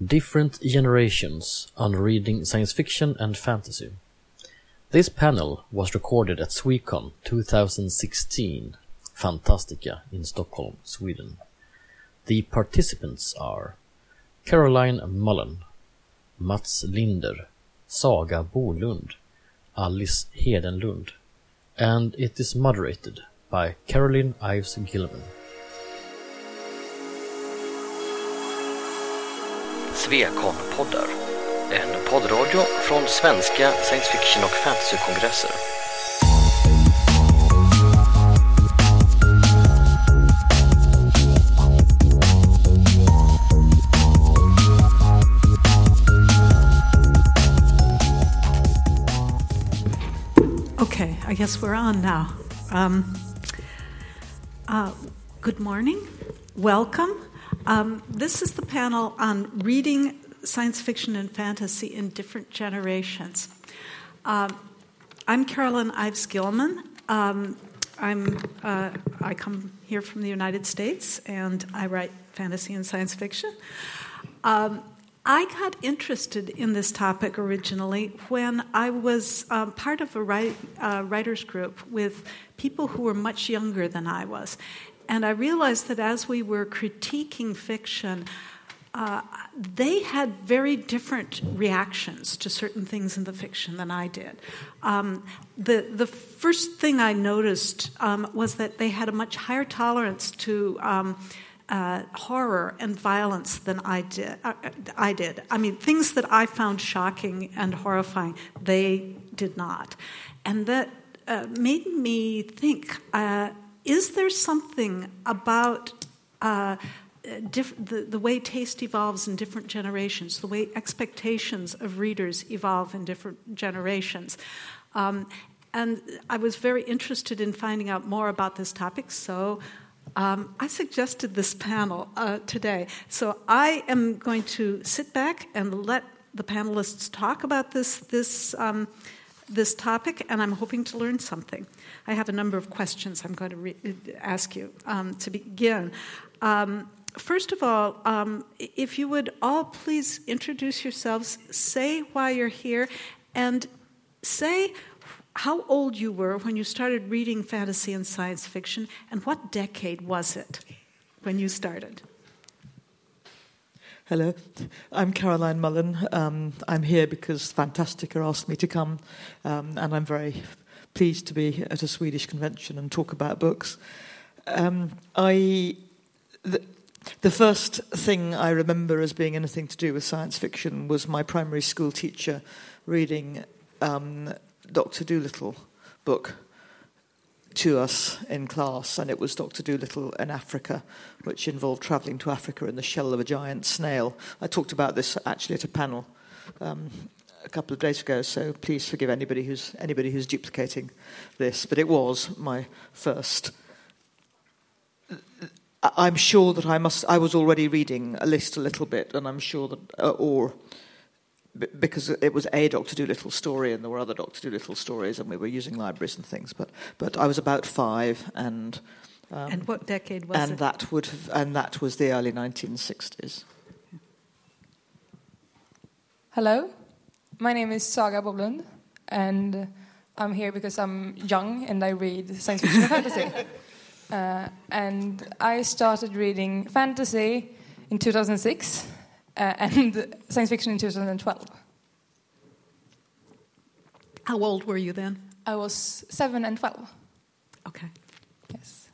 Different Generations on Reading Science Fiction and Fantasy. This panel was recorded at Swecon 2016, Fantastica in Stockholm, Sweden. The participants are Caroline Mullen, Mats Linder, Saga Bolund, Alice Hedenlund, and it is moderated by Caroline Ives Gilman. Svekon-poddar, en poddradio från svenska science fiction och fantasykongresser. Okay, I guess we're on now. Good morning. Welcome. This is the panel on reading science fiction and fantasy in different generations. I'm Caroline Ives Gilman. I come here from the United States, and I write fantasy and science fiction. I got interested in this topic originally when I was part of a writers group with people who were much younger than I was. And I realized that as we were critiquing fiction, they had very different reactions to certain things in the fiction than I did. The first thing I noticed was that they had a much higher tolerance to horror and violence than I did. I mean, things that I found shocking and horrifying, they did not. And that made me think, is there something about the way taste evolves in different generations, the way expectations of readers evolve in different generations? And I was very interested in finding out more about this topic, so I suggested this panel today. So I am going to sit back and let the panelists talk about this topic, and I'm hoping to learn something. I have a number of questions I'm going to ask you to begin. First of all, if you would all please introduce yourselves, say why you're here, and say how old you were when you started reading fantasy and science fiction, and what decade was it when you started? Hello, I'm Caroline Mullen. I'm here because Fantastica asked me to come, and I'm very pleased to be at a Swedish convention and talk about books. The first thing I remember as being anything to do with science fiction was my primary school teacher reading Dr. Dolittle book to us in class, and it was Dr. Dolittle in Africa, which involved travelling to Africa in the shell of a giant snail. I talked about this actually at a panel a couple of days ago, so please forgive anybody who's duplicating this. But it was my first. I'm sure that I was already reading a little bit, and I'm sure that because it was a Dr. Dolittle story, and there were other Dr. Dolittle stories, and we were using libraries and things. But I was about 5, and what decade was it? That was the early 1960s. Hello, my name is Saga Bolund, and I'm here because I'm young and I read science fiction and fantasy. And I started reading fantasy in 2006. And science fiction in 2012. How old were you then? I was 7 and 12. Okay. Yes.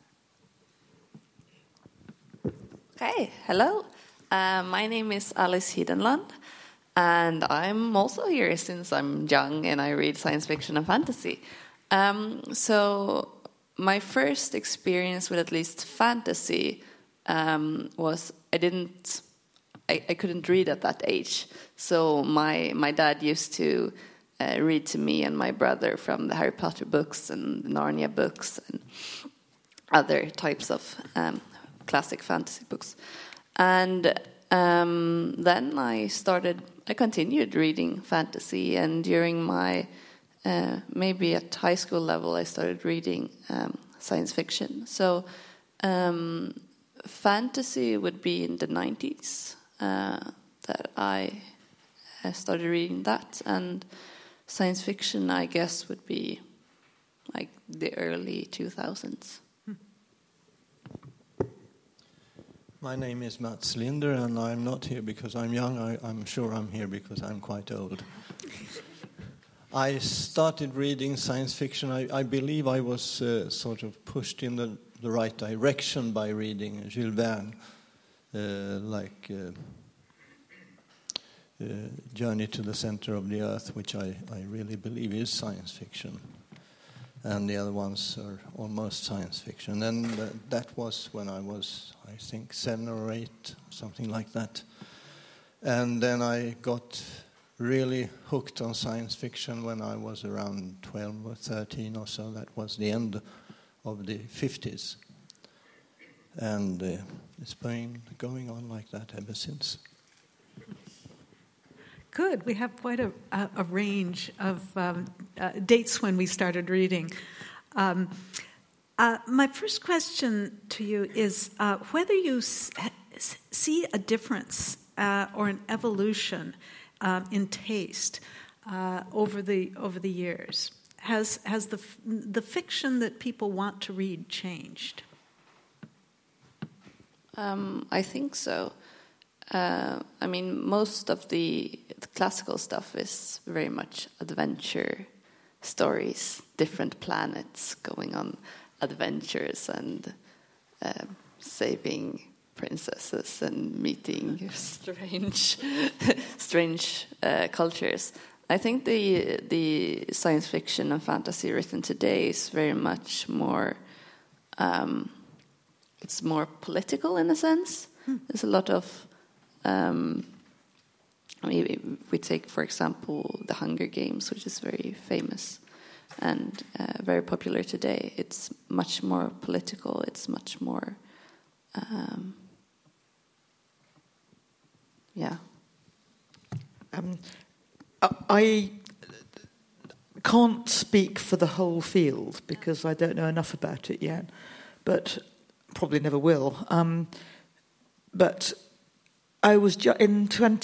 Okay, hello. My name is Alice Hedenlund, and I'm also here since I'm young and I read science fiction and fantasy. So my first experience with at least fantasy was I couldn't read at that age, so my dad used to read to me and my brother from the Harry Potter books and the Narnia books and other types of classic fantasy books. And then I continued reading fantasy, and during my maybe at high school level I started reading science fiction. So fantasy would be in the 90s. that I started reading that, and science fiction, I guess, would be like the early 2000s. My name is Mats Linder, and I'm not here because I'm young. I'm sure I'm here because I'm quite old. I started reading science fiction. I believe I was sort of pushed in the right direction by reading Jules Verne, Journey to the Center of the Earth, which I really believe is science fiction. And the other ones are almost science fiction. And that was when I was, I think, 7 or 8, something like that. And then I got really hooked on science fiction when I was around 12 or 13 or so. That was the end of the 50s. And it's been going on like that ever since. Good. We have quite a range of dates when we started reading. My first question to you is whether you see a difference or an evolution in taste over the years. Has the fiction that people want to read changed? I think so. I mean, most of the classical stuff is very much adventure stories, different planets going on adventures and saving princesses and meeting strange cultures. I think the science fiction and fantasy written today is very much more. It's more political in a sense. There's a lot of. If we take, for example, the Hunger Games, which is very famous and very popular today. It's much more political. It's much more, I can't speak for the whole field because I don't know enough about it yet, but probably never will. But I was in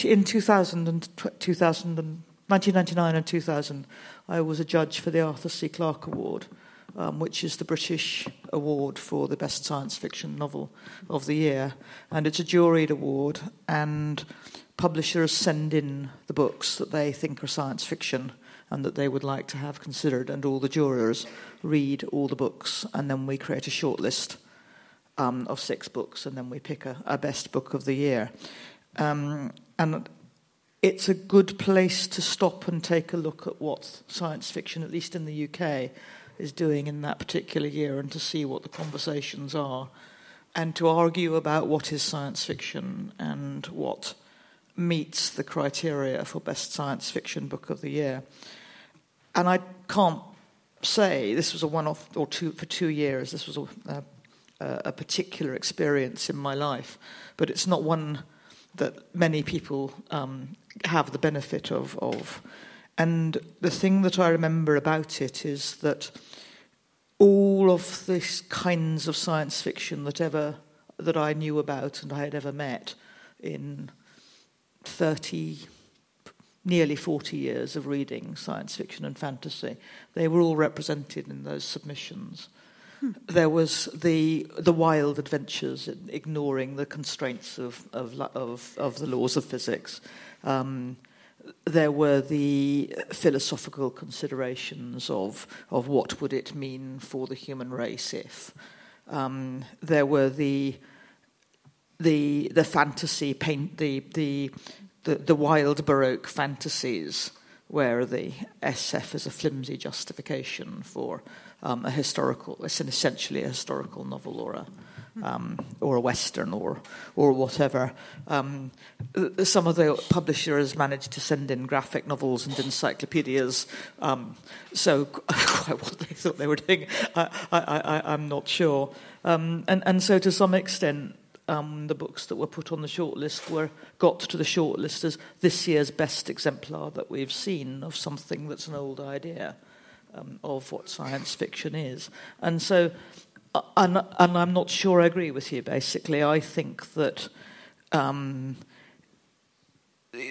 1999 and 2000. I was a judge for the Arthur C. Clarke Award, which is the British award for the best science fiction novel of the year, and it's a juried award. And publishers send in the books that they think are science fiction and that they would like to have considered, and all the jurors read all the books, and then we create a shortlist of 6 books, and then we pick a best book of the year. And it's a good place to stop and take a look at what science fiction, at least in the UK, is doing in that particular year, and to see what the conversations are, and to argue about what is science fiction and what meets the criteria for best science fiction book of the year. And I can't say this was a one-off or two for 2 years. This was a particular experience in my life, but it's not one that many people have the benefit of. And the thing that I remember about it is that all of these kinds of science fiction that I knew about and I had ever met in 30, nearly 40 years of reading science fiction and fantasy, they were all represented in those submissions. There was the wild adventures, ignoring the constraints of the laws of physics. There were the philosophical considerations of what would it mean for the human race if. There were the fantasy the wild Baroque fantasies, where the SF is a flimsy justification for it's essentially a historical novel or a western or whatever. Some of the publishers managed to send in graphic novels and encyclopedias. So quite what they thought they were doing, I'm not sure. And so to some extent, the books that were put on the shortlist got to the shortlist as this year's best exemplar that we've seen of something that's an old idea of what science fiction is. And so, and I'm not sure I agree with you, basically. I think that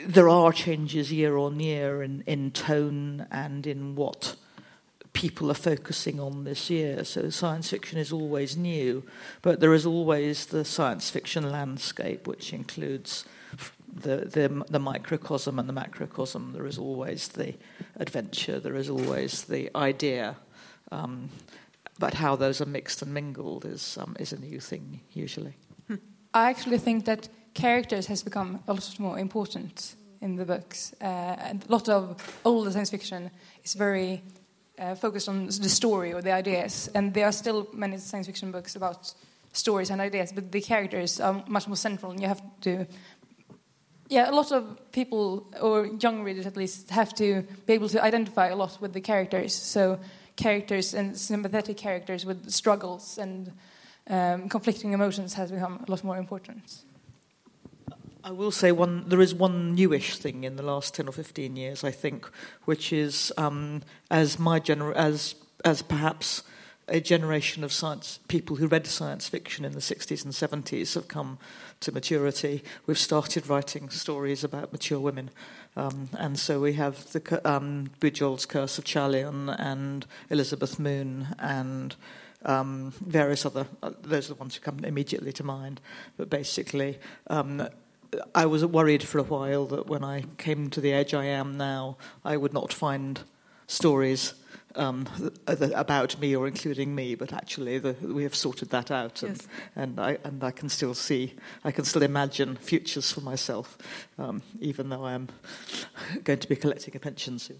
there are changes year on year in tone and in what people are focusing on this year. So science fiction is always new, but there is always the science fiction landscape, which includes the microcosm and the macrocosm. There is always the adventure, there is always the idea, but how those are mixed and mingled is a new thing usually. I actually think that characters has become a lot more important in the books. And a lot of older science fiction is very focused on the story or the ideas, and there are still many science fiction books about stories and ideas, but the characters are much more central, and you have to... Yeah, a lot of people, or young readers at least, have to be able to identify a lot with the characters. So characters and sympathetic characters with struggles and conflicting emotions has become a lot more important. I will say there is one newish thing in the last 10 or 15 years, I think, which is as perhaps a generation of science people who read science fiction in the 60s and 70s have come to maturity. We've started writing stories about mature women. And so we have the Bujold's Curse of Chalion and Elizabeth Moon and various other... those are the ones who come immediately to mind. But basically... I was worried for a while that when I came to the age I am now, I would not find stories about me or including me, but actually we have sorted that out, yes. and I can still imagine futures for myself, even though I am going to be collecting a pension soon.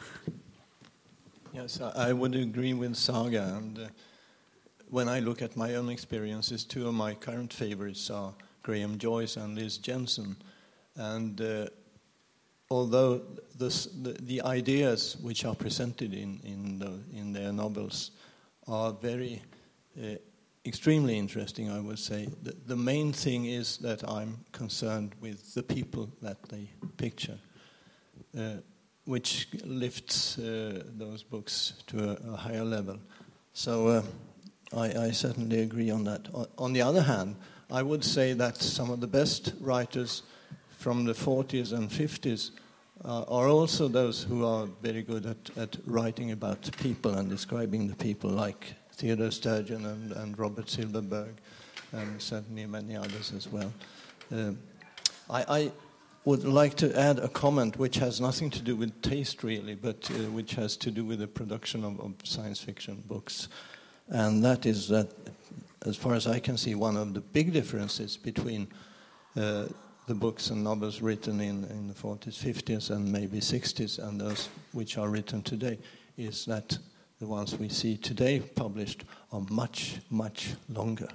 Yes, I would agree with Saga, and when I look at my own experiences, two of my current favorites are Graham Joyce and Liz Jensen, and although the ideas which are presented in their novels are very extremely interesting, I would say, the main thing is that I'm concerned with the people that they picture, which lifts those books to a higher level. So I certainly agree on that. On the other hand, I would say that some of the best writers from the 40s and 50s are also those who are very good at writing about people and describing the people, like Theodore Sturgeon and Robert Silverberg, and certainly many others as well. I would like to add a comment which has nothing to do with taste, really, but which has to do with the production of science fiction books. And that is that, as far as I can see, one of the big differences between the books and novels written in the 40s, 50s, and maybe 60s, and those which are written today, is that the ones we see today published are much, much longer.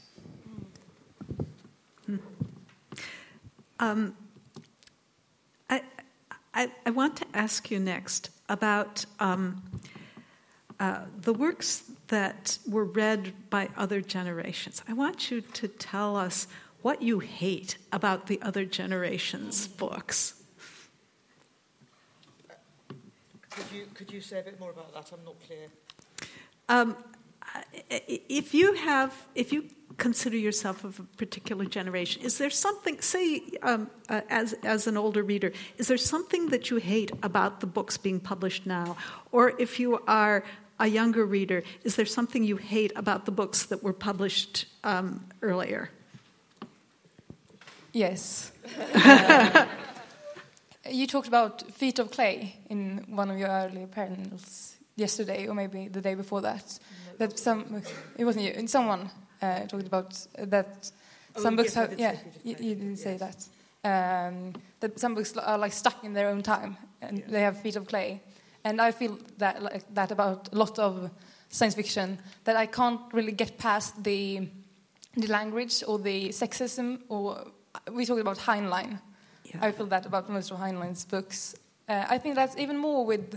I want to ask you next about the works that were read by other generations. I want you to tell us what you hate about the other generation's books. Could you say a bit more about that? I'm not clear. If you consider yourself of a particular generation, is there something, say, as an older reader, is there something that you hate about the books being published now? Or if you are a younger reader, is there something you hate about the books that were published earlier? Yes. You talked about Feet of Clay in one of your earlier panels yesterday, or maybe the day before that. That it wasn't you, and someone talked about that. Some books have, you didn't say that. That some books are like stuck in their own time, and they have feet of clay. And I feel that about a lot of science fiction, that I can't really get past the language or the sexism, or we talked about Heinlein. Yeah. I feel that about most of Heinlein's books. I think that's even more with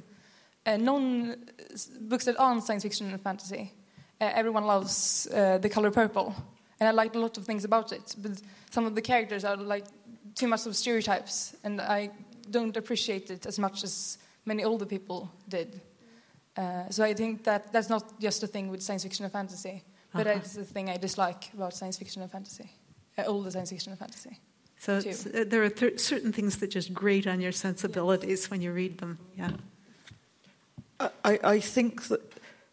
books that aren't science fiction and fantasy. Everyone loves The Color Purple, and I like a lot of things about it, but some of the characters are like too much of stereotypes, and I don't appreciate it as much as many older people did. So I think that's not just a thing with science fiction and fantasy, but it's the thing I dislike about science fiction and fantasy, older science fiction and fantasy. So too. there are certain things that just grate on your sensibilities when you read them. Yeah. I think that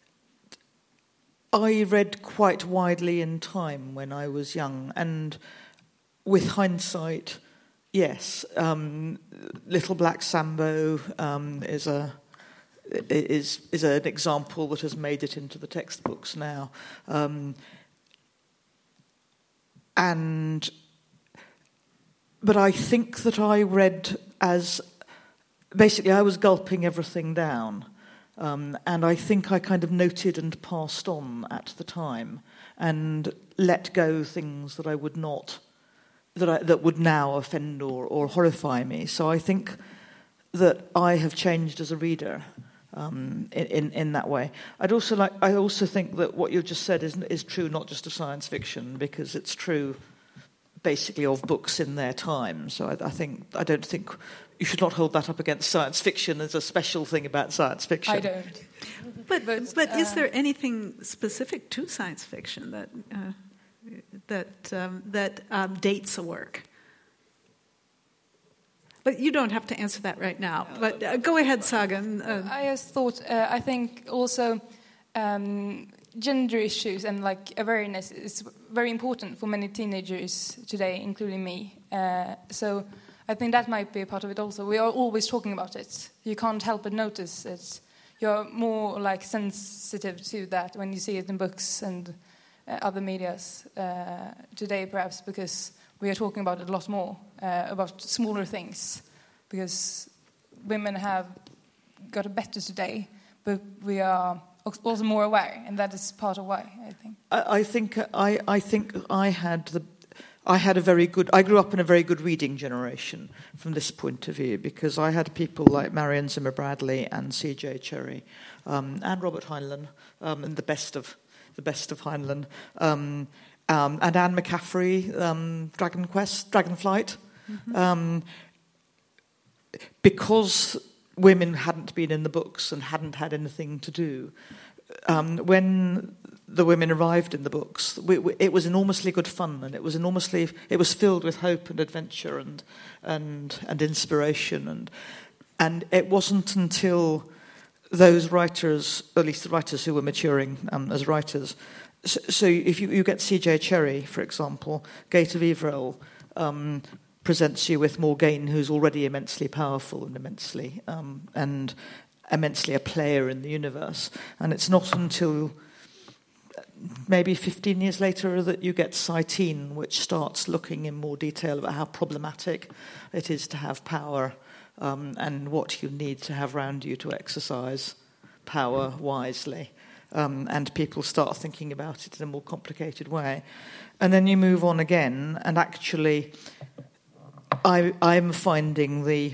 I read quite widely in time when I was young, and with hindsight, yes, Little Black Sambo is an example that has made it into the textbooks now, but I think that I read as basically I was gulping everything down. And I think I kind of noted and passed on at the time and let go things that I would not, that would now offend or horrify me. So I think that I have changed as a reader in that way. I also think that what you just said is true not just of science fiction, because it's true basically of books in their time. So I don't think you should not hold that up against science fiction as a special thing about science fiction. I don't. But is there anything specific to science fiction that dates a work? But you don't have to answer that right now. But go ahead, Saga. I just thought. I think also gender issues and like awareness is very important for many teenagers today, including me. So I think that might be a part of it also. We are always talking about it. You can't help but notice it. You're more like sensitive to that when you see it in books and other medias today, perhaps because we are talking about it a lot more, about smaller things, because women have got it better today, but we are also more aware, and that is part of why, I think. I think I had a very good. I grew up in a very good reading generation from this point of view, because I had people like Marion Zimmer Bradley and C.J. Cherryh and Robert Heinlein, and the best of Heinlein, and Anne McCaffrey, Dragonflight, because women hadn't been in the books and hadn't had anything to do. When the women arrived in the books, it was enormously good fun, and it was filled with hope and adventure and inspiration, and it wasn't until those writers, or at least the writers who were maturing as writers. So if you get C.J. Cherryh, for example, Gate of Yvrel presents you with Morgaine, who's already immensely powerful and immensely a player in the universe, and it's not until maybe 15 years later that you get Satine, which starts looking in more detail about how problematic it is to have power and what you need to have around you to exercise power wisely. And people start thinking about it in a more complicated way. And then you move on again, and actually I'm finding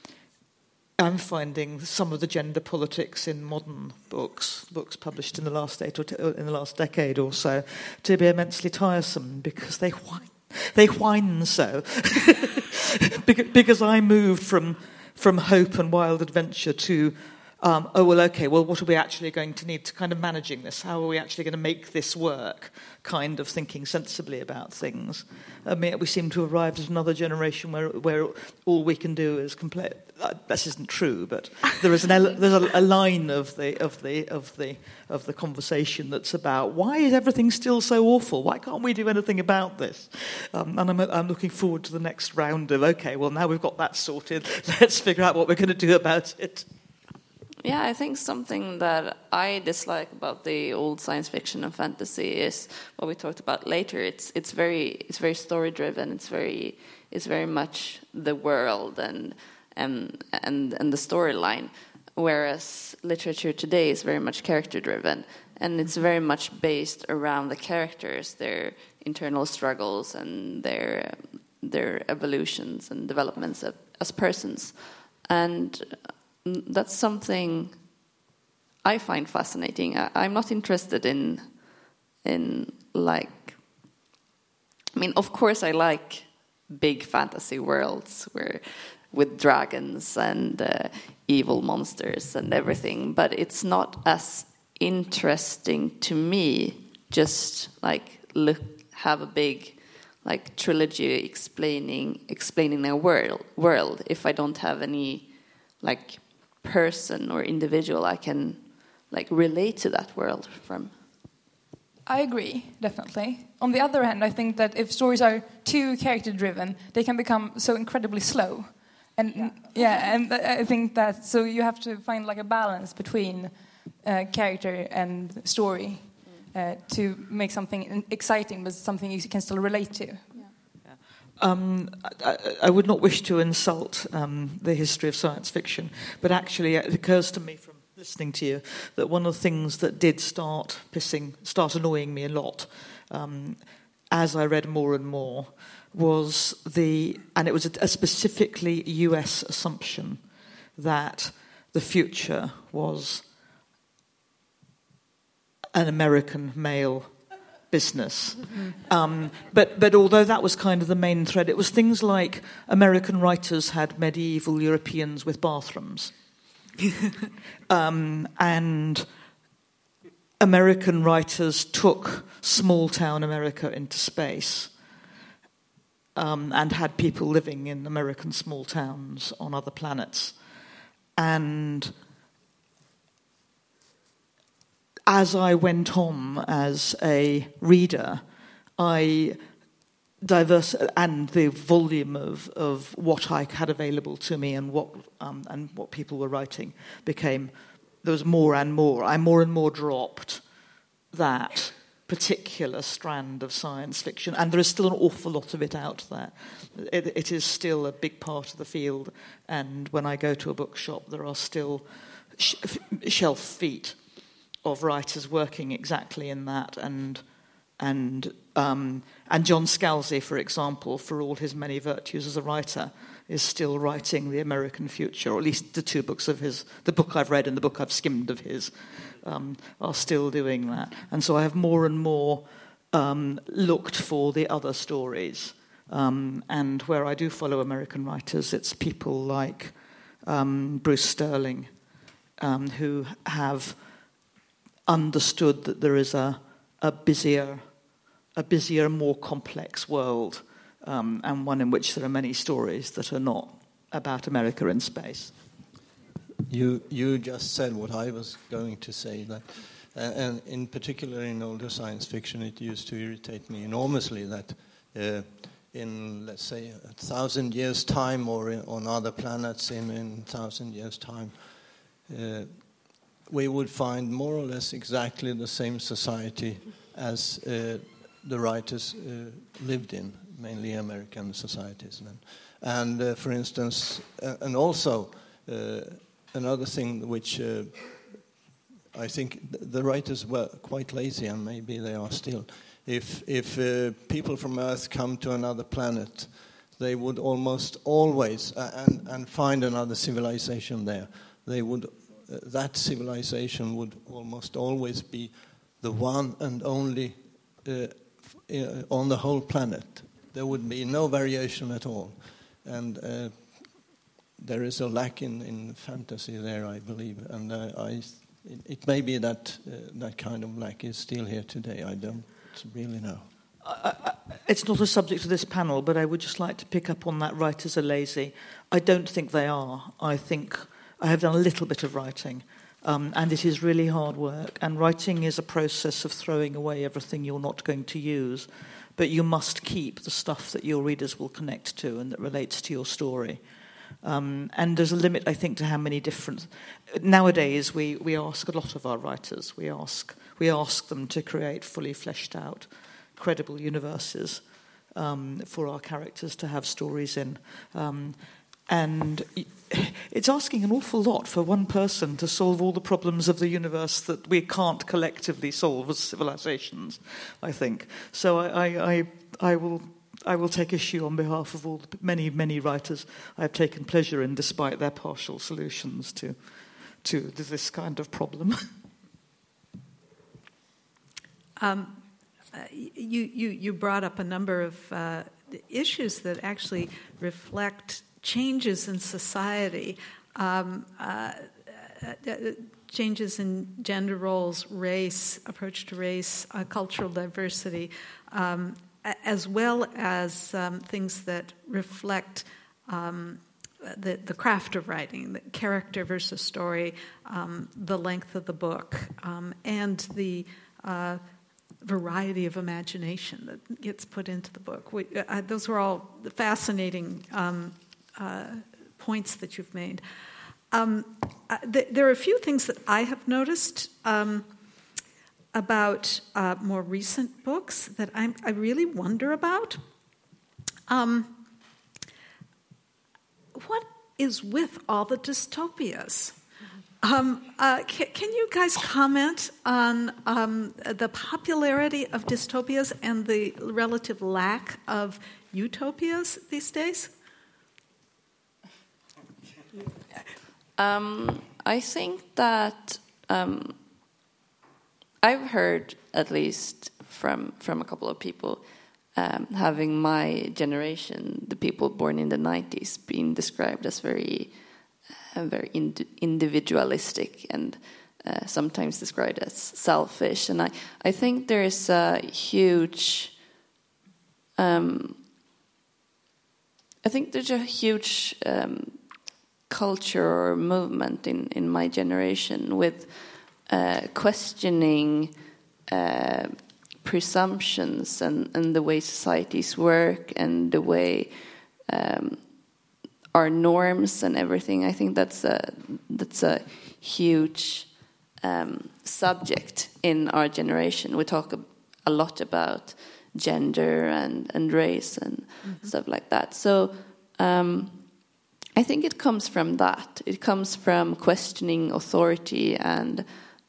some of the gender politics in modern books published in the last in the last decade or so, to be immensely tiresome, because they whine so. Because I moved from hope and wild adventure to what are we actually going to need to kind of managing this? How are we actually going to make this work? Kind of thinking sensibly about things. I mean, we seem to have arrived at another generation where all we can do is complain. This isn't true, but there's a line of the conversation that's about, why is everything still so awful? Why can't we do anything about this? And I'm looking forward to the next round of, okay, well, now we've got that sorted. Let's figure out what we're going to do about it. Yeah, I think something that I dislike about the old science fiction and fantasy is what we talked about later. It's very story driven. It's very much the world and the storyline, whereas literature today is very much character driven, and it's very much based around the characters, their internal struggles and their evolutions and developments as persons, and that's something I find fascinating. I'm not interested in like, I mean, of course I like big fantasy worlds with dragons and evil monsters and everything, but it's not as interesting to me just like have a big like trilogy explaining a world if I don't have any like person or individual I can like relate to that world from. I agree, definitely. On the other hand, I think that if stories are too character-driven, they can become so incredibly slow. And and I think that so you have to find like a balance between character and story to make something exciting, but something you can still relate to. I would not wish to insult the history of science fiction, but actually it occurs to me from listening to you that one of the things that did start annoying me a lot as I read more and more was and it was a specifically US assumption that the future was an American male business. But although that was kind of the main thread, it was things like American writers had medieval Europeans with bathrooms. And American writers took small-town America into space and had people living in American small towns on other planets. And as I went on as a reader, and the volume of what I had available to me and what people were writing there was more and more. I more and more dropped that particular strand of science fiction, and there is still an awful lot of it out there. It is still a big part of the field, and when I go to a bookshop, there are still shelf feet of writers working exactly in that, and John Scalzi, for example, for all his many virtues as a writer, is still writing The American Future, or at least the two books of his, the book I've read and the book I've skimmed of his, are still doing that. And so I have more and more looked for the other stories. And where I do follow American writers, it's people like Bruce Sterling, who have understood that there is a busier, more complex world, and one in which there are many stories that are not about America in space. You just said what I was going to say, that, and in particular in older science fiction, it used to irritate me enormously that in, let's say, 1,000 years' time, or on other planets in 1,000 years' time, we would find more or less exactly the same society as the writers lived in, mainly American societies. And for instance, and also another thing which I think the writers were quite lazy, and maybe they are still. If people from Earth come to another planet, they would almost always and find another civilization there. They would that civilization would almost always be the one and only on the whole planet. There would be no variation at all, and there is a lack in fantasy there, I believe, and it may be that that kind of lack is still here today. I don't really know. It's not a subject of this panel, but I would just like to pick up on that writers are lazy. I don't think they are. I think I have done a little bit of writing, and it is really hard work. And writing is a process of throwing away everything you're not going to use, but you must keep the stuff that your readers will connect to and that relates to your story. And there's a limit, I think, to how many different... Nowadays, we ask a lot of our writers. We ask them to create fully fleshed out, credible universes for our characters to have stories in. And it's asking an awful lot for one person to solve all the problems of the universe that we can't collectively solve as civilizations, I think. So I will take issue on behalf of all the many, many writers I have taken pleasure in, despite their partial solutions to this kind of problem. You brought up a number of issues that actually reflect changes in society, changes in gender roles, race, approach to race, cultural diversity. as well as things that reflect the craft of writing, the character versus story, the length of the book, and the variety of imagination that gets put into the book. Those were all fascinating points that you've made. There are a few things that I have noticed about more recent books that I really wonder about. What is with all the dystopias? Can you guys comment on the popularity of dystopias and the relative lack of utopias these days? I think that I've heard, at least from a couple of people, having my generation, the people born in the 90s, being described as very individualistic and sometimes described as selfish. And I think there's a huge culture or movement in my generation with questioning presumptions and the way societies work and the way our norms and everything. I think that's a huge subject in our generation. We talk a lot about gender and race and stuff like that. So I think it comes from that. It comes from questioning authority, and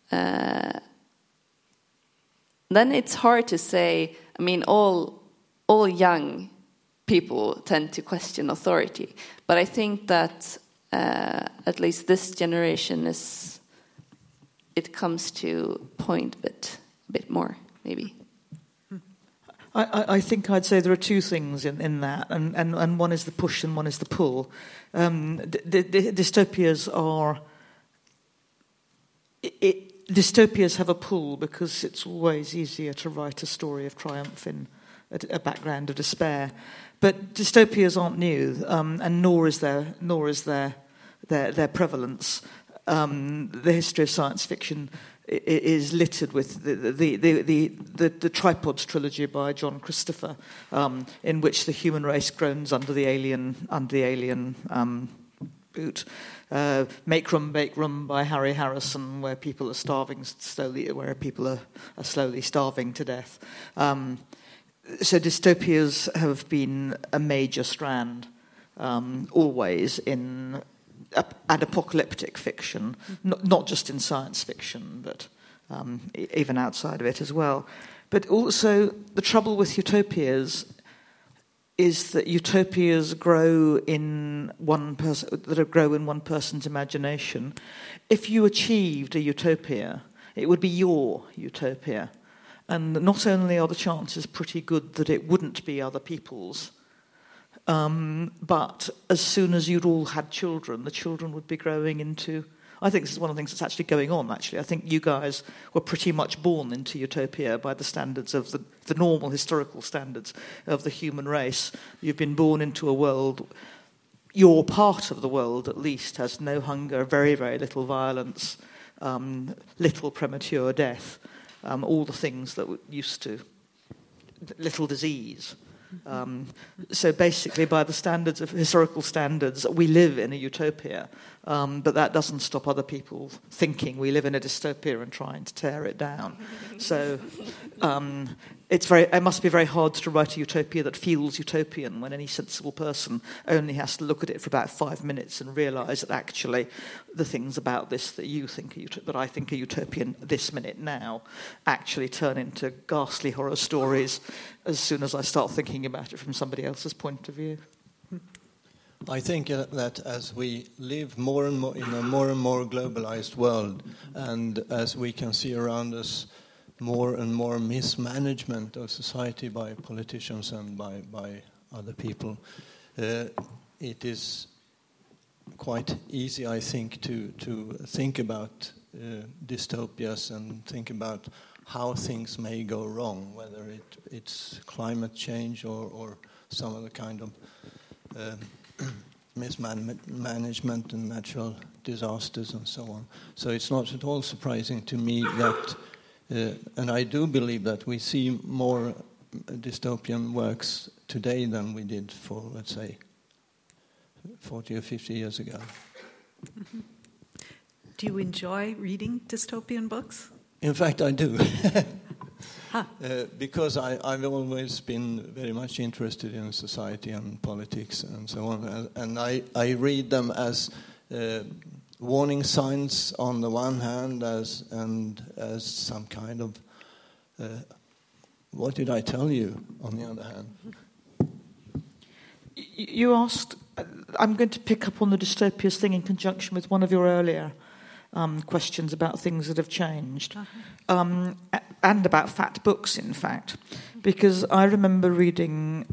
then it's hard to say. I mean, all young people tend to question authority, but I think that at least this generation it comes to point a bit more, maybe. I think I'd say there are two things in that, and one is the push and one is the pull. Dystopias are... dystopias have a pull because it's always easier to write a story of triumph in a background of despair. But dystopias aren't new, and nor is their prevalence. The history of science fiction is littered with the Tripods trilogy by John Christopher, in which the human race groans under the alien boot. Make Room, Bake Room by Harry Harrison, where people are starving slowly, where people are slowly starving to death. So dystopias have been a major strand, always in and apocalyptic fiction, not just in science fiction, but even outside of it as well. But also, the trouble with utopias is that utopias grow in one person's imagination. If you achieved a utopia, it would be your utopia. And not only are the chances pretty good that it wouldn't be other people's, but as soon as you'd all had children, the children would be growing into... I think this is one of the things that's actually going on, actually. I think you guys were pretty much born into utopia by the standards of the normal historical standards of the human race. You've been born into a world... Your part of the world, at least, has no hunger, very, very little violence, little premature death, all the things that used to... little disease... So basically, by the standards of historical standards, we live in a utopia, but that doesn't stop other people thinking we live in a dystopia and trying to tear it down. So it must be very hard to write a utopia that feels utopian when any sensible person only has to look at it for about 5 minutes and realise that actually the things about this that you think that I think are utopian this minute now actually turn into ghastly horror stories as soon as I start thinking about it from somebody else's point of view. I think that as we live more and more in a more and more globalized world, and as we can see around us more and more mismanagement of society by politicians and by other people, it is quite easy, I think, to think about dystopias and think about how things may go wrong, whether it's climate change or some other kind of mismanagement and natural disasters and so on. So it's not at all surprising to me that, and I do believe that we see more dystopian works today than we did for, let's say, 40 or 50 years ago. Mm-hmm. Do you enjoy reading dystopian books? In fact, I do. Because I've always been very much interested in society and politics and so on. And I read them as warning signs on the one hand, as some kind of what did I tell you on the other hand. You asked, I'm going to pick up on the dystopias thing in conjunction with one of your earlier questions about things that have changed, and about fat books, in fact, because I remember reading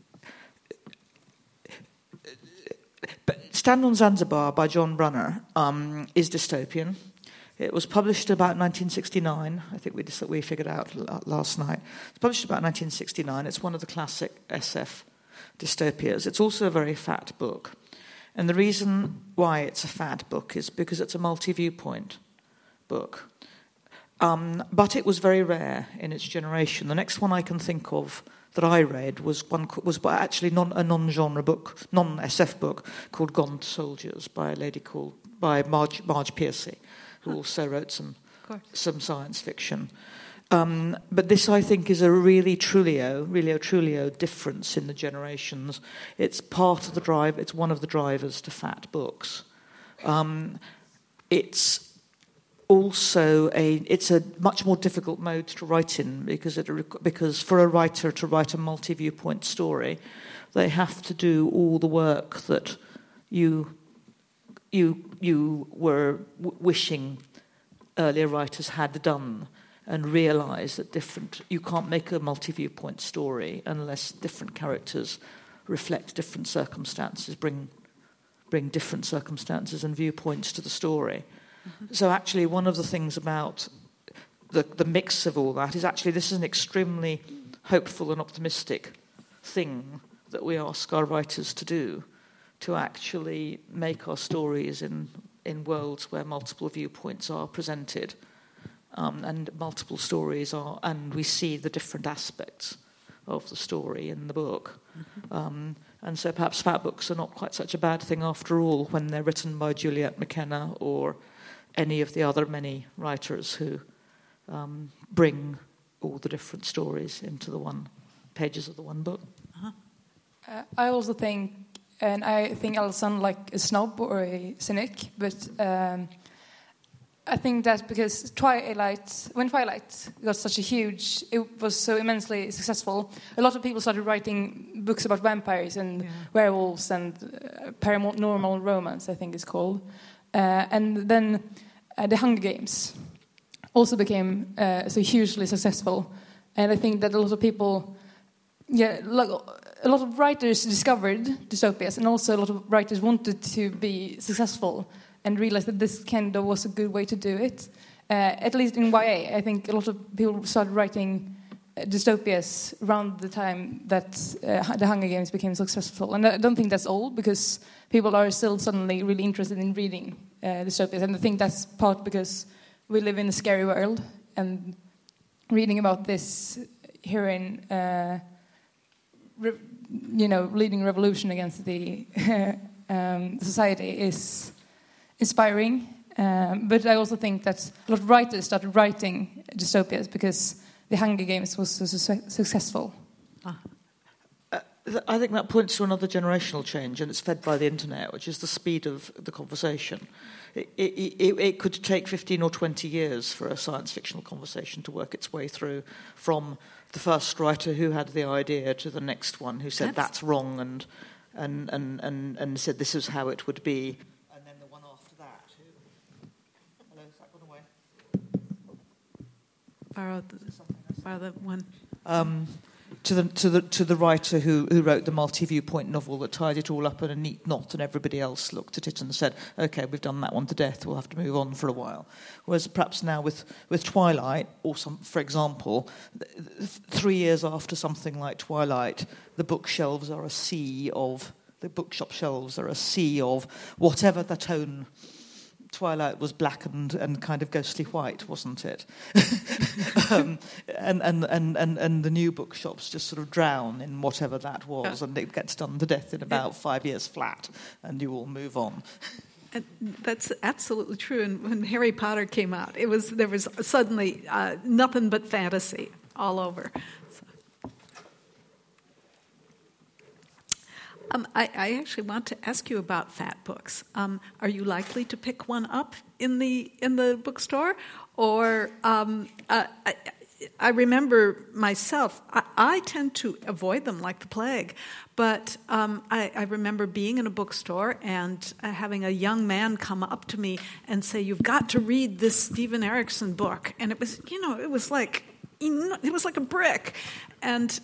Stand on Zanzibar by John Brunner is dystopian. It was published about 1969. I think we figured out last night. It's published about 1969. It's one of the classic SF dystopias. It's also a very fat book. And the reason why it's a fad book is because it's a multi-viewpoint book. But it was very rare in its generation. The next one I can think of that I read was actually a non-genre book, non-SF book, called Gaunt Soldiers by Marge Piercy, who also wrote some science fiction. But this, I think, is a really Trulio difference in the generations. It's part of the drive. It's one of the drivers to fat books. It's also it's a much more difficult mode to write in because for a writer to write a multi-viewpoint story, they have to do all the work that you were wishing earlier writers had done, and realise that you can't make a multi-viewpoint story unless different characters reflect different circumstances, bring different circumstances and viewpoints to the story. Mm-hmm. So actually one of the things about the mix of all that is actually this is an extremely hopeful and optimistic thing that we ask our writers to do, to actually make our stories in worlds where multiple viewpoints are presented. And multiple stories and we see the different aspects of the story in the book. Mm-hmm. And so perhaps fat books are not quite such a bad thing after all when they're written by Juliet McKenna or any of the other many writers who bring all the different stories into the pages of the one book. Uh-huh. I also think, and I think I'll sound like a snob or a cynic, but I think that because when Twilight got such it was so immensely successful, a lot of people started writing books about vampires and werewolves and paranormal romance, I think it's called. And then the Hunger Games also became so hugely successful. And I think that a lot of people, a lot of writers discovered dystopias, and also a lot of writers wanted to be successful and realized that this kind of was a good way to do it. At least in YA, I think a lot of people started writing dystopias around the time that the Hunger Games became successful. And I don't think that's old, because people are still suddenly really interested in reading dystopias. And I think that's part because we live in a scary world, and reading about this heroine, leading revolution against the society is inspiring, but I also think that a lot of writers started writing dystopias because the Hunger Games was so successful. I think that points to another generational change, and it's fed by the internet, which is the speed of the conversation. It could take 15 or 20 years for a science fictional conversation to work its way through from the first writer who had the idea to the next one who said that's wrong and said this is how it would be. Borrow the one. to the writer who wrote the multi-viewpoint novel that tied it all up in a neat knot, and everybody else looked at it and said, "Okay, we've done that one to death. We'll have to move on for a while." Whereas perhaps now with Twilight, or for example, 3 years after something like Twilight, the bookshelf shelves are a sea of whatever the tone. Twilight was black and kind of ghostly white, wasn't it? And the new bookshops just sort of drown in whatever that was, and it gets done to death in about 5 years flat, and you all move on. And that's absolutely true. And when Harry Potter came out, there was suddenly nothing but fantasy all over. I actually want to ask you about fat books. Are you likely to pick one up in the bookstore? Or I remember myself, I tend to avoid them like the plague. But I remember being in a bookstore and having a young man come up to me and say, "You've got to read this Stephen Erickson book." And it was like a brick. And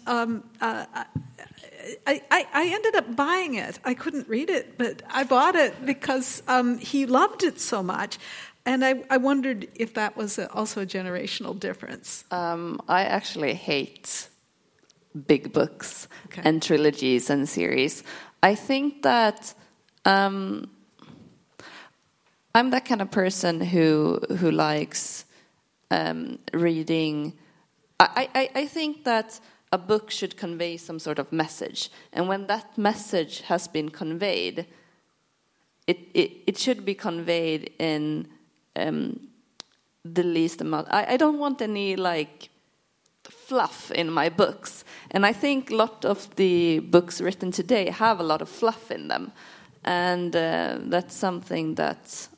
I ended up buying it. I couldn't read it, but I bought it because he loved it so much. And I wondered if that was also a generational difference. I actually hate big books and trilogies and series. I think that I'm that kind of person who likes reading. I think that a book should convey some sort of message, and when that message has been conveyed, it should be conveyed in the least amount. I don't want any fluff in my books, and I think a lot of the books written today have a lot of fluff in them, and that's something that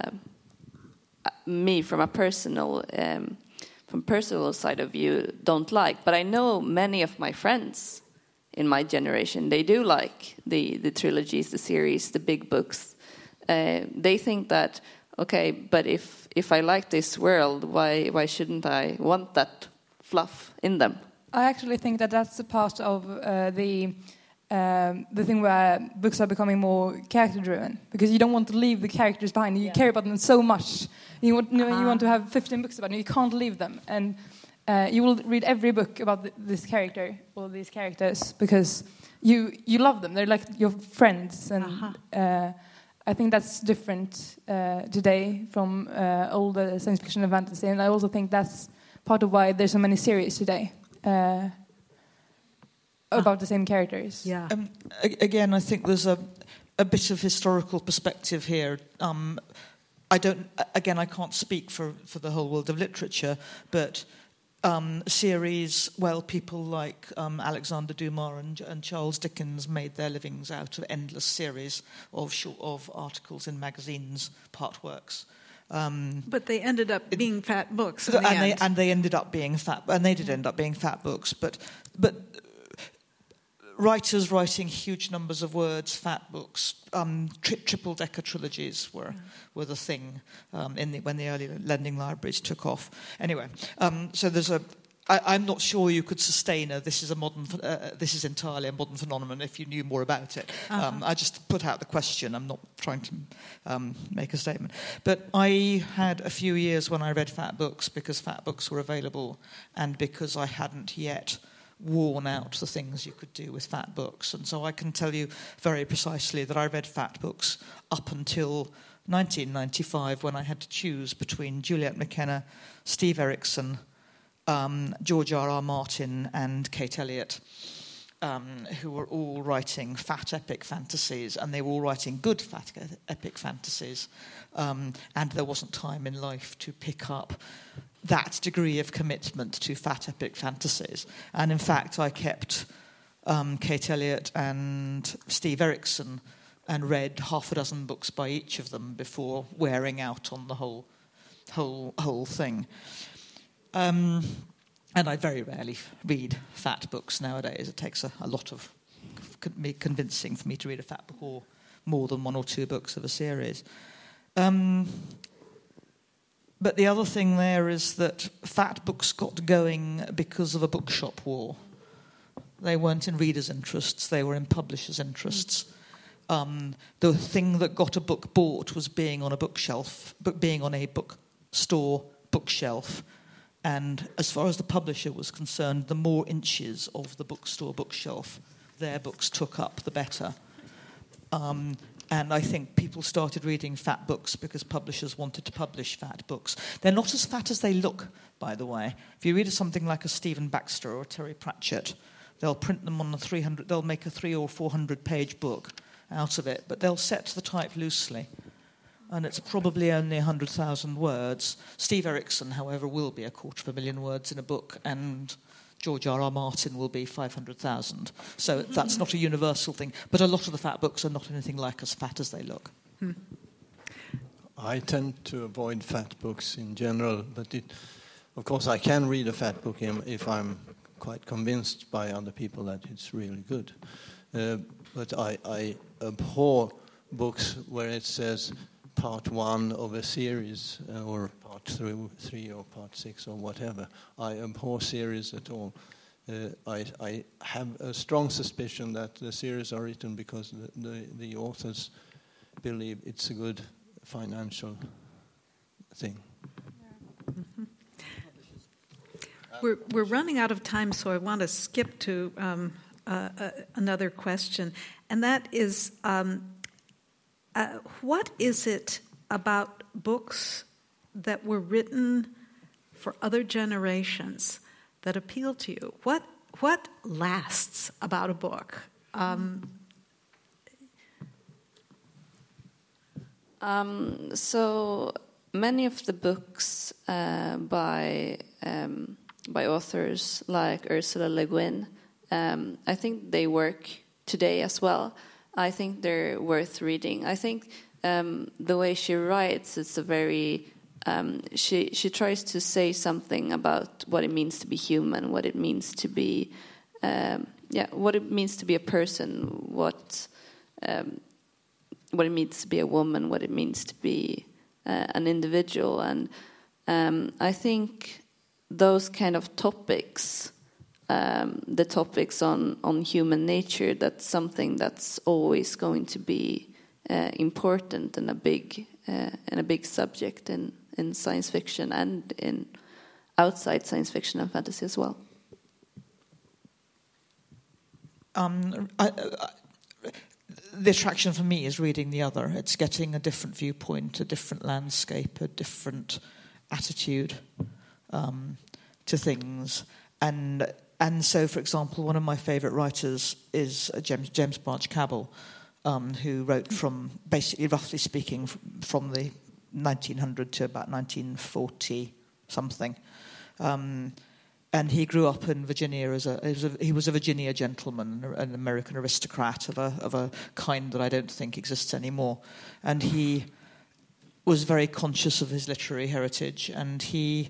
me from a personal side of view don't like. But I know many of my friends in my generation, they do like the trilogies, the series, the big books. They think that, okay, but if I like this world, why shouldn't I want that fluff in them? I actually think that that's a part of the thing where books are becoming more character-driven, because you don't want to leave the characters behind. You care about them so much. You want to have 15 books about them. You can't leave them. And you will read every book about this character or these characters because you love them. They're like your friends. And I think that's different today from older science fiction and fantasy. And I also think that's part of why there's so many series today. About the same characters. Yeah. Again, I think there's a bit of historical perspective here. I can't speak for the whole world of literature, but series, people like Alexander Dumas and Charles Dickens made their livings out of endless series of articles in magazines, part works. But they ended up being fat books. They ended up being fat, and they did end up being fat books. But writers writing huge numbers of words, fat books, triple-decker trilogies were the thing when the early lending libraries took off. Anyway, so there's I'm not sure you could sustain this is entirely a modern phenomenon if you knew more about it. I just put out the question. I'm not trying to make a statement. But I had a few years when I read fat books because fat books were available and because I hadn't yet worn out the things you could do with fat books. And so I can tell you very precisely that I read fat books up until 1995 when I had to choose between Juliet McKenna, Steve Erickson, George R.R. Martin and Kate Elliott, who were all writing fat epic fantasies, and they were all writing good fat epic fantasies. And there wasn't time in life to pick up that degree of commitment to fat epic fantasies. And in fact, I kept Kate Elliott and Steve Erickson and read half a dozen books by each of them before wearing out on the whole thing. And I very rarely read fat books nowadays. It takes a lot of convincing for me to read a fat book or more than one or two books of a series. But the other thing there is that fat books got going because of a bookshop war. They weren't in readers' interests, they were in publishers' interests. The thing that got a book bought was being on a bookshelf, but being on a bookstore bookshelf. And as far as the publisher was concerned, the more inches of the bookstore bookshelf their books took up, the better. And I think people started reading fat books because publishers wanted to publish fat books. They're not as fat as they look, by the way. If you read something like a Stephen Baxter or a Terry Pratchett, they'll print them on they'll make a 300 or 400 page book out of it, but they'll set the type loosely. And it's probably only 100,000 words. Steve Erickson, however, will be 250,000 words in a book, and George R.R. Martin will be 500,000. So that's not a universal thing. But a lot of the fat books are not anything like as fat as they look. I tend to avoid fat books in general, but of course I can read a fat book if I'm quite convinced by other people that it's really good. But I abhor books where it says part 1 of a series or part 3 or part 6 or whatever. I abhor series at all. I have a strong suspicion that the series are written because the authors believe it's a good financial thing. Mm-hmm. We're running out of time, so I want to skip to another question, and that is, what is it about books that were written for other generations that appeal to you? What lasts about a book? So many of the books by authors like Ursula Le Guin, I think they work today as well. I think they're worth reading. I think the way she writes, it's a very she tries to say something about what it means to be human, what it means to be what it means to be a person, what it means to be a woman, what it means to be an individual, and I think those kind of topics, the topics on human nature, that's something that's always going to be important and a big subject in science fiction and in outside science fiction and fantasy as well. The attraction for me is reading the other. It's getting a different viewpoint, a different landscape, a different attitude to things. And so, for example, one of my favourite writers is James Branch Cabell, who wrote from, basically, roughly speaking, from the 1900 to about 1940-something. And he grew up in Virginia he was a Virginia gentleman, an American aristocrat of a kind that I don't think exists anymore. And he was very conscious of his literary heritage, and he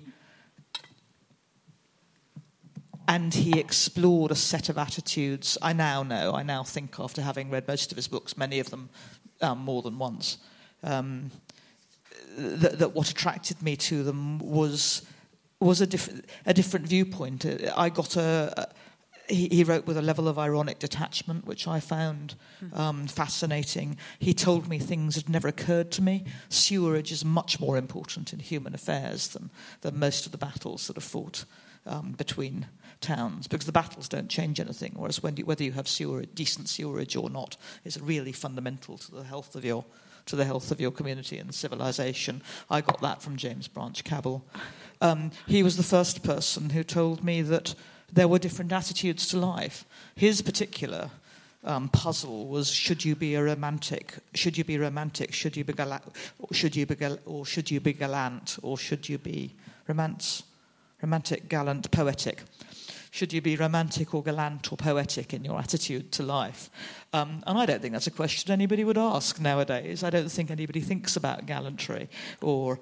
explored a set of attitudes. I now think, after having read most of his books, many of them more than once, that what attracted me to them was a different viewpoint. I got he wrote with a level of ironic detachment, which I found fascinating. He told me things that had never occurred to me. Sewerage is much more important in human affairs than most of the battles that are fought between towns, because the battles don't change anything, whereas whether you have decent sewerage or not is really fundamental to the health of your community and civilization. I got that from James Branch Cabell. He was the first person who told me that there were different attitudes to life. His particular puzzle was: should you be a romantic? Should you be romantic? Should you be gallant? Or should you be gallant? Or should you be romantic, gallant, poetic? Should you be romantic or gallant or poetic in your attitude to life? And I don't think that's a question anybody would ask nowadays. I don't think anybody thinks about gallantry or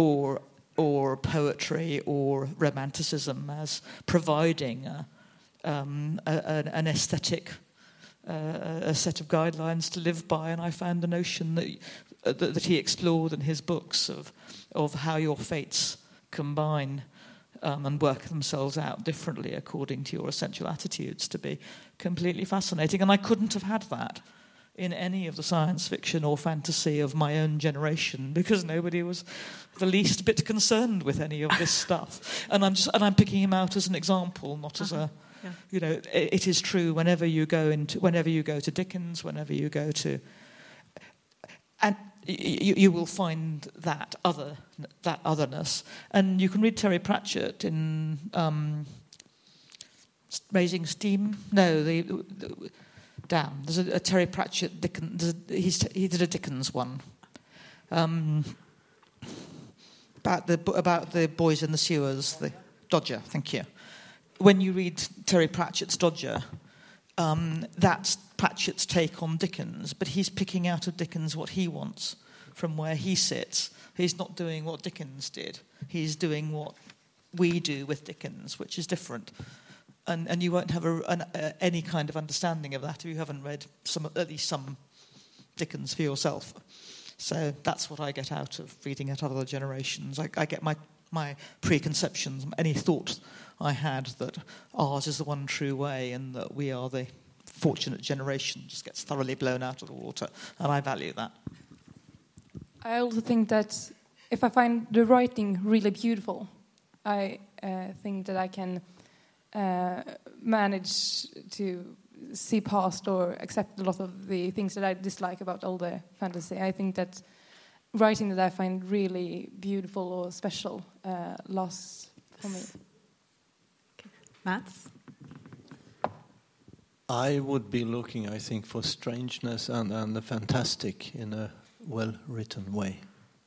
poetry or romanticism as providing an aesthetic, a set of guidelines to live by. And I found the notion that he explored in his books of how your fates combine and work themselves out differently according to your essential attitudes to be completely fascinating. And I couldn't have had that in any of the science fiction or fantasy of my own generation, because nobody was the least bit concerned with any of this stuff. And I'm picking him out as an example, not as a, you know, it is true whenever you go to Dickens, whenever you go to, and you will find that otherness. And you can read Terry Pratchett in Raising Steam. No, Damn, there's a Terry Pratchett Dickens. He did a Dickens one about the boys in the sewers, the Dodger. Thank you. When you read Terry Pratchett's Dodger, that's Pratchett's take on Dickens, but he's picking out of Dickens what he wants from where he sits. He's not doing what Dickens did. He's doing what we do with Dickens, which is different. And you won't have any kind of understanding of that if you haven't read at least some Dickens for yourself. So that's what I get out of reading at other generations. I get my preconceptions, any thought I had that ours is the one true way and that we are the fortunate generation just gets thoroughly blown out of the water. And I value that. I also think that if I find the writing really beautiful, I think that I can manage to see past or accept a lot of the things that I dislike about older fantasy. I think that writing that I find really beautiful or special lasts for me. Okay. Mats? I would be looking, I think, for strangeness and the fantastic in a well-written way.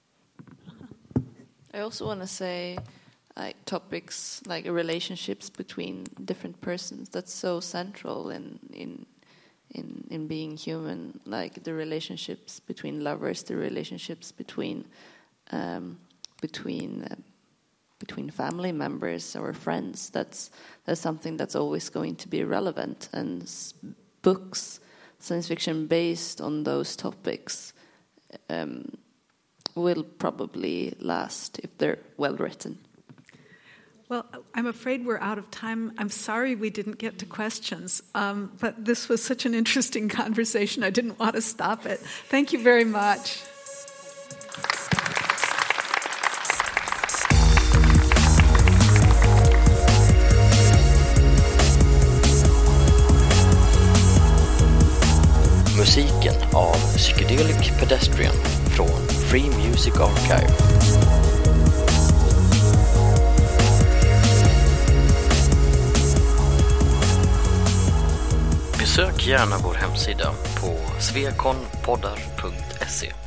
I also want to say topics like relationships between different persons. That's so central in being human. Like the relationships between lovers, the relationships between family members or friends. That's something that's always going to be relevant. And books, science fiction based on those topics, will probably last if they're well written. Well, I'm afraid we're out of time. I'm sorry we didn't get to questions, but this was such an interesting conversation. I didn't want to stop it. Thank you very much. Musiken av Psychedelic Pedestrian från Free Music Archive. Besök gärna vår hemsida på svekonpoddar.se.